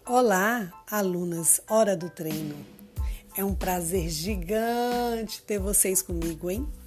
Olá, alunas, hora do treino. É um prazer gigante ter vocês comigo, hein?